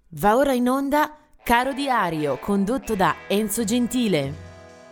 Va ora in onda Caro Diario, condotto da Enzo Gentile.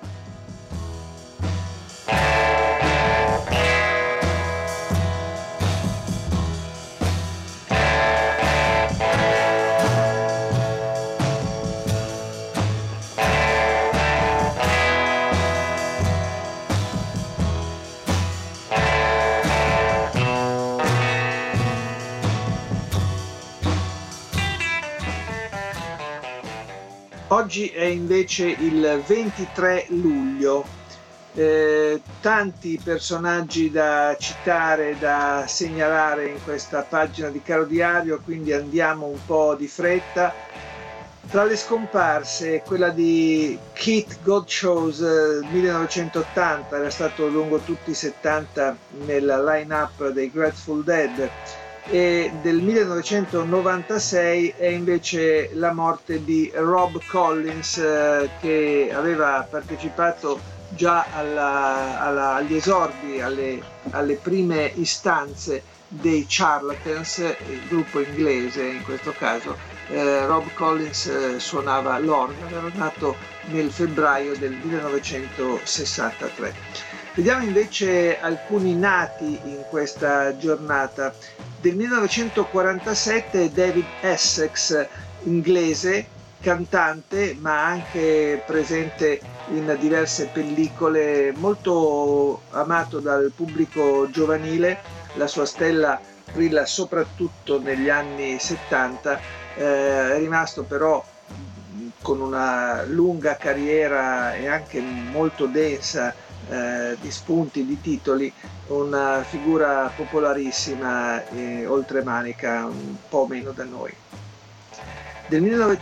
Oggi è invece il 23 luglio, tanti personaggi da citare, da segnalare in questa pagina di Caro Diario, quindi andiamo un po' di fretta. Tra le scomparse, quella di Keith Godchauss, 1980, era stato lungo tutti i 70 nella line-up dei Grateful Dead, e del 1996 è invece la morte di Rob Collins, che aveva partecipato già agli esordi, alle prime istanze dei Charlatans, il gruppo inglese in questo caso. Rob Collins suonava l'organo, era nato nel febbraio del 1963. Vediamo invece alcuni nati in questa giornata. Del 1947 David Essex, inglese, cantante ma anche presente in diverse pellicole, molto amato dal pubblico giovanile. La sua stella brilla soprattutto negli anni 70, è rimasto però con una lunga carriera e anche molto densa di spunti, di titoli, una figura popolarissima e oltremanica, un po' meno da noi. Del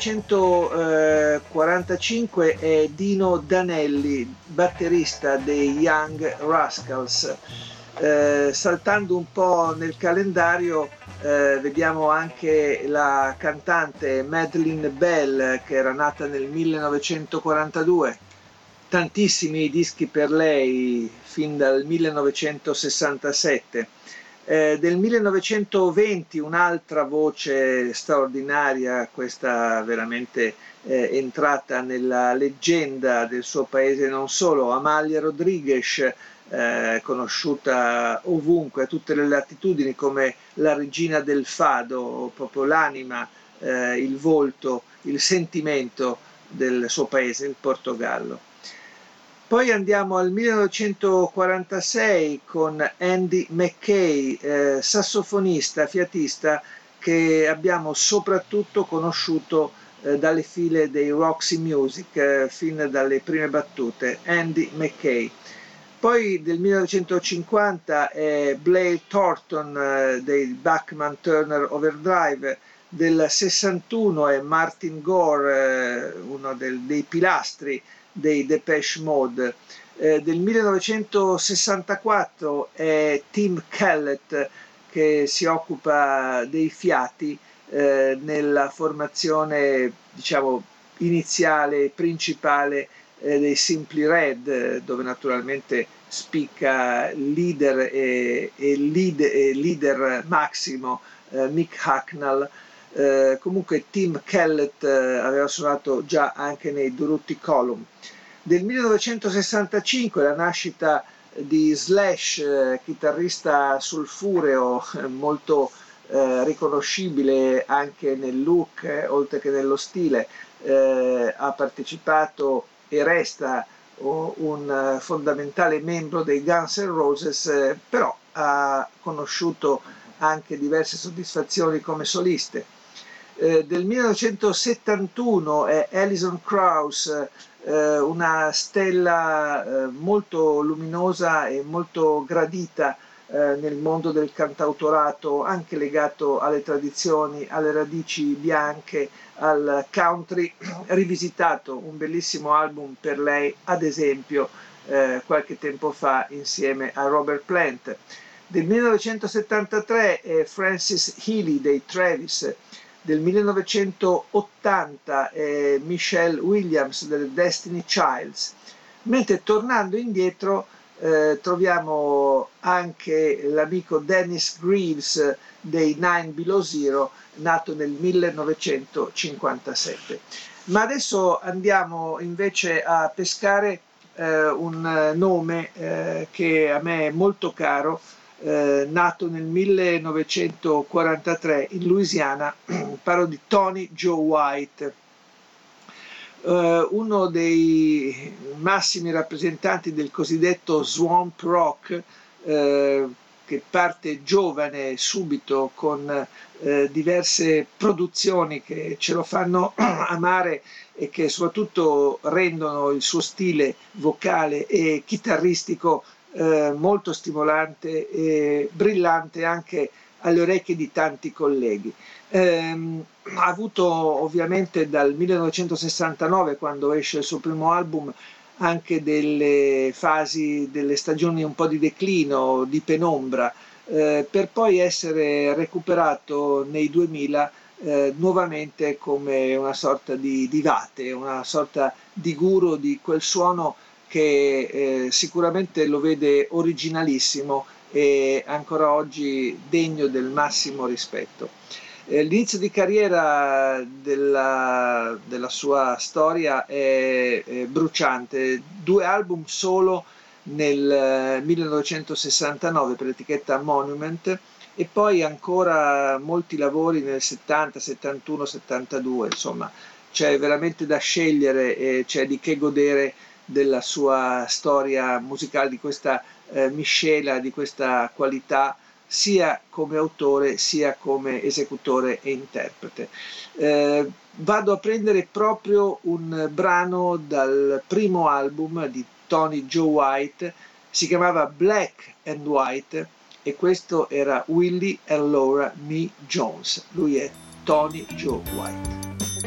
1945 è Dino Danelli, batterista dei Young Rascals. Saltando un po' nel calendario, vediamo anche la cantante Madeleine Bell, che era nata nel 1942. Tantissimi dischi per lei fin dal 1967. Del 1920 un'altra voce straordinaria, questa veramente entrata nella leggenda del suo paese, non solo, Amalia Rodriguez, conosciuta ovunque, a tutte le latitudini, come la regina del fado, proprio l'anima, il volto, il sentimento del suo paese, il Portogallo. Poi andiamo al 1946 con Andy Mackay, sassofonista, fiatista, che abbiamo soprattutto conosciuto dalle file dei Roxy Music, fin dalle prime battute. Andy Mackay. Poi del 1950 è Blair Thornton, dei Bachman Turner Overdrive. Del 61 è Martin Gore, uno dei pilastri dei Depeche Mode. Del 1964 è Tim Kellett, che si occupa dei fiati nella formazione, diciamo, iniziale, principale dei Simply Red, dove naturalmente spicca leader e leader massimo Mick Hucknall. Comunque Tim Kellett aveva suonato già anche nei Durutti Column. Del 1965 la nascita di Slash, chitarrista sulfureo, molto riconoscibile anche nel look, oltre che nello stile. Ha partecipato e resta un fondamentale membro dei Guns N' Roses, però ha conosciuto anche diverse soddisfazioni come soliste. Del 1971 è Alison Krauss, una stella molto luminosa e molto gradita nel mondo del cantautorato, anche legato alle tradizioni, alle radici bianche, al country, rivisitato un bellissimo album per lei, ad esempio, qualche tempo fa insieme a Robert Plant. Del 1973 è Frances Healy dei Travis. Del 1980 Michelle Williams delle Destiny Childs, mentre tornando indietro troviamo anche l'amico Dennis Greaves dei Nine Below Zero, nato nel 1957. Ma adesso andiamo invece a pescare un nome che a me è molto caro, nato nel 1943 in Louisiana. Parlo di Tony Joe White, uno dei massimi rappresentanti del cosiddetto swamp rock, che parte giovane subito con diverse produzioni che ce lo fanno amare e che soprattutto rendono il suo stile vocale e chitarristico molto stimolante e brillante anche alle orecchie di tanti colleghi. Ha avuto ovviamente dal 1969, quando esce il suo primo album, anche delle fasi, delle stagioni un po' di declino, di penombra, per poi essere recuperato nei 2000 nuovamente come una sorta di vate, una sorta di guru di quel suono che sicuramente lo vede originalissimo e ancora oggi degno del massimo rispetto. L'inizio di carriera della sua storia è bruciante, 2 album solo nel 1969 per l'etichetta Monument e poi ancora molti lavori nel 70, 71, 72, insomma c'è veramente da scegliere e c'è di che godere della sua storia musicale, di questa miscela, di questa qualità sia come autore sia come esecutore e interprete. Vado a prendere proprio un brano dal primo album di Tony Joe White, si chiamava Black and White e questo era Willie and Laura Mee Jones. Lui è Tony Joe White.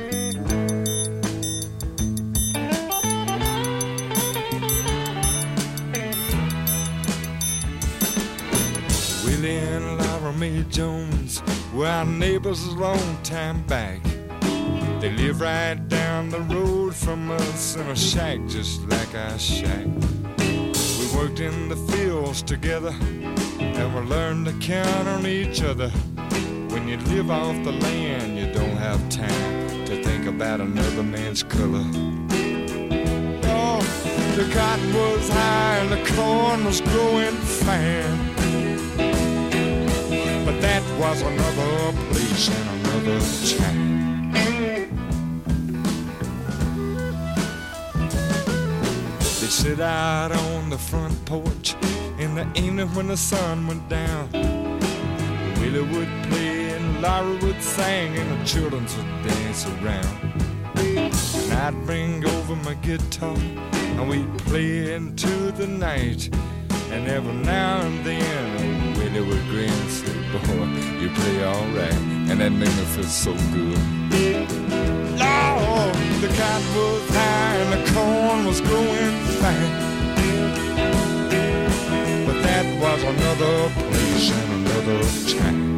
Willie and Laura Mae Jones were our neighbors a long time back. They live right down the road from us in a shack just like our shack. We worked in the fields together and we learned to count on each other. When you live off the land, you don't have time to think about another man's color. Oh, the cotton was high and the corn was growing fine. But that was another place and another time. They sit out on the front porch in the evening when the sun went down. Willie would play and Laura would sing and the children would dance around. And I'd bring over my guitar and we'd play into the night. And every now and then Willie would grin and say, boy, you play alright. And that made me feel so good. Lord, the cotton was high and the corn was growing fine. But that was another place and another time.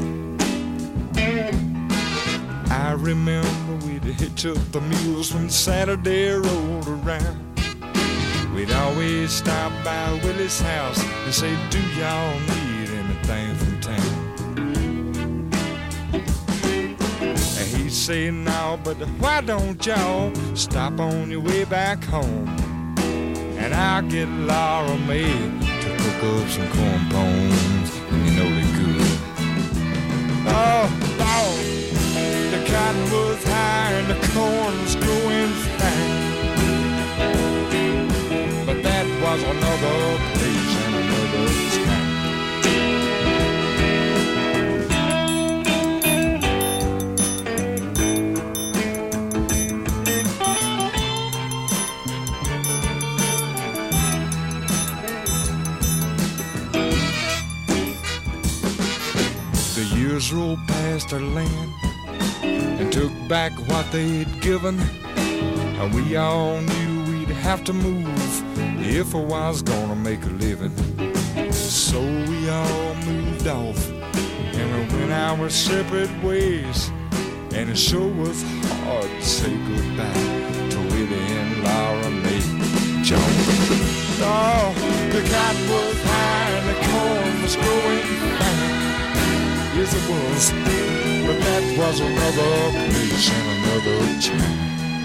I remember we'd hitch up the mules when Saturday rolled around. We'd always stop by Willie's house and say, do y'all need anything from town? And he'd say, no, but why don't y'all stop on your way back home? And I'll get Laura Mae to cook up some corn bones, and you know they're good. Oh, Lord, the cotton was high and the corn was growing fine. But that was another place and another time. The years rolled past our land and took back what they'd given, and we all knew we'd have to move if I was gonna make a living. So we all moved off and we went our separate ways, and it sure was hard to say goodbye to Willie and Laura Mae Jones. Oh, The cotton was high and the corn was growing fine. Yes, it was, but that was another place and another time.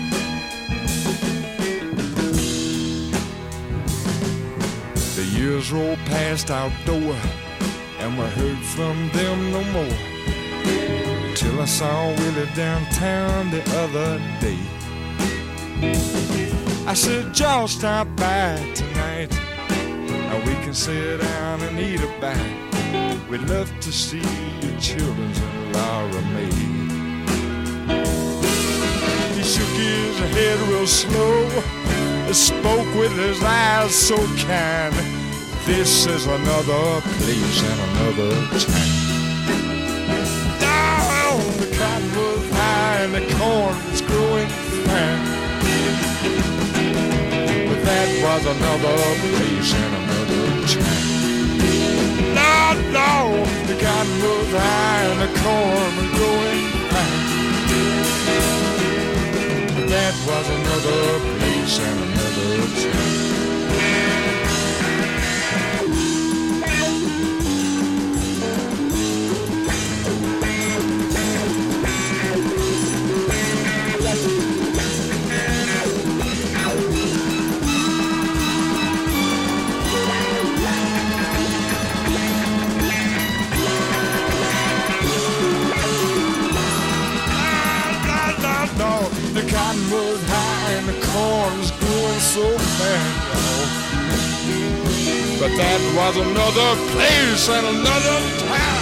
The years rolled past outdoor, and we heard from them no more. Till I saw Willie downtown the other day. I said, Joe, stop by tonight. Now we can sit down and eat a bite. We'd love to see your children's and Laura May. He shook his head real slow, spoke with his eyes so kind. This is another place and another time. Oh, the cotton was high and the corn was growing fine. But that was another place and another time. No, the cotton was high and the corn was growing fine. But that was another place and another time. The cotton was high and the corn was growing so fast, y'all. But that was another place and another time.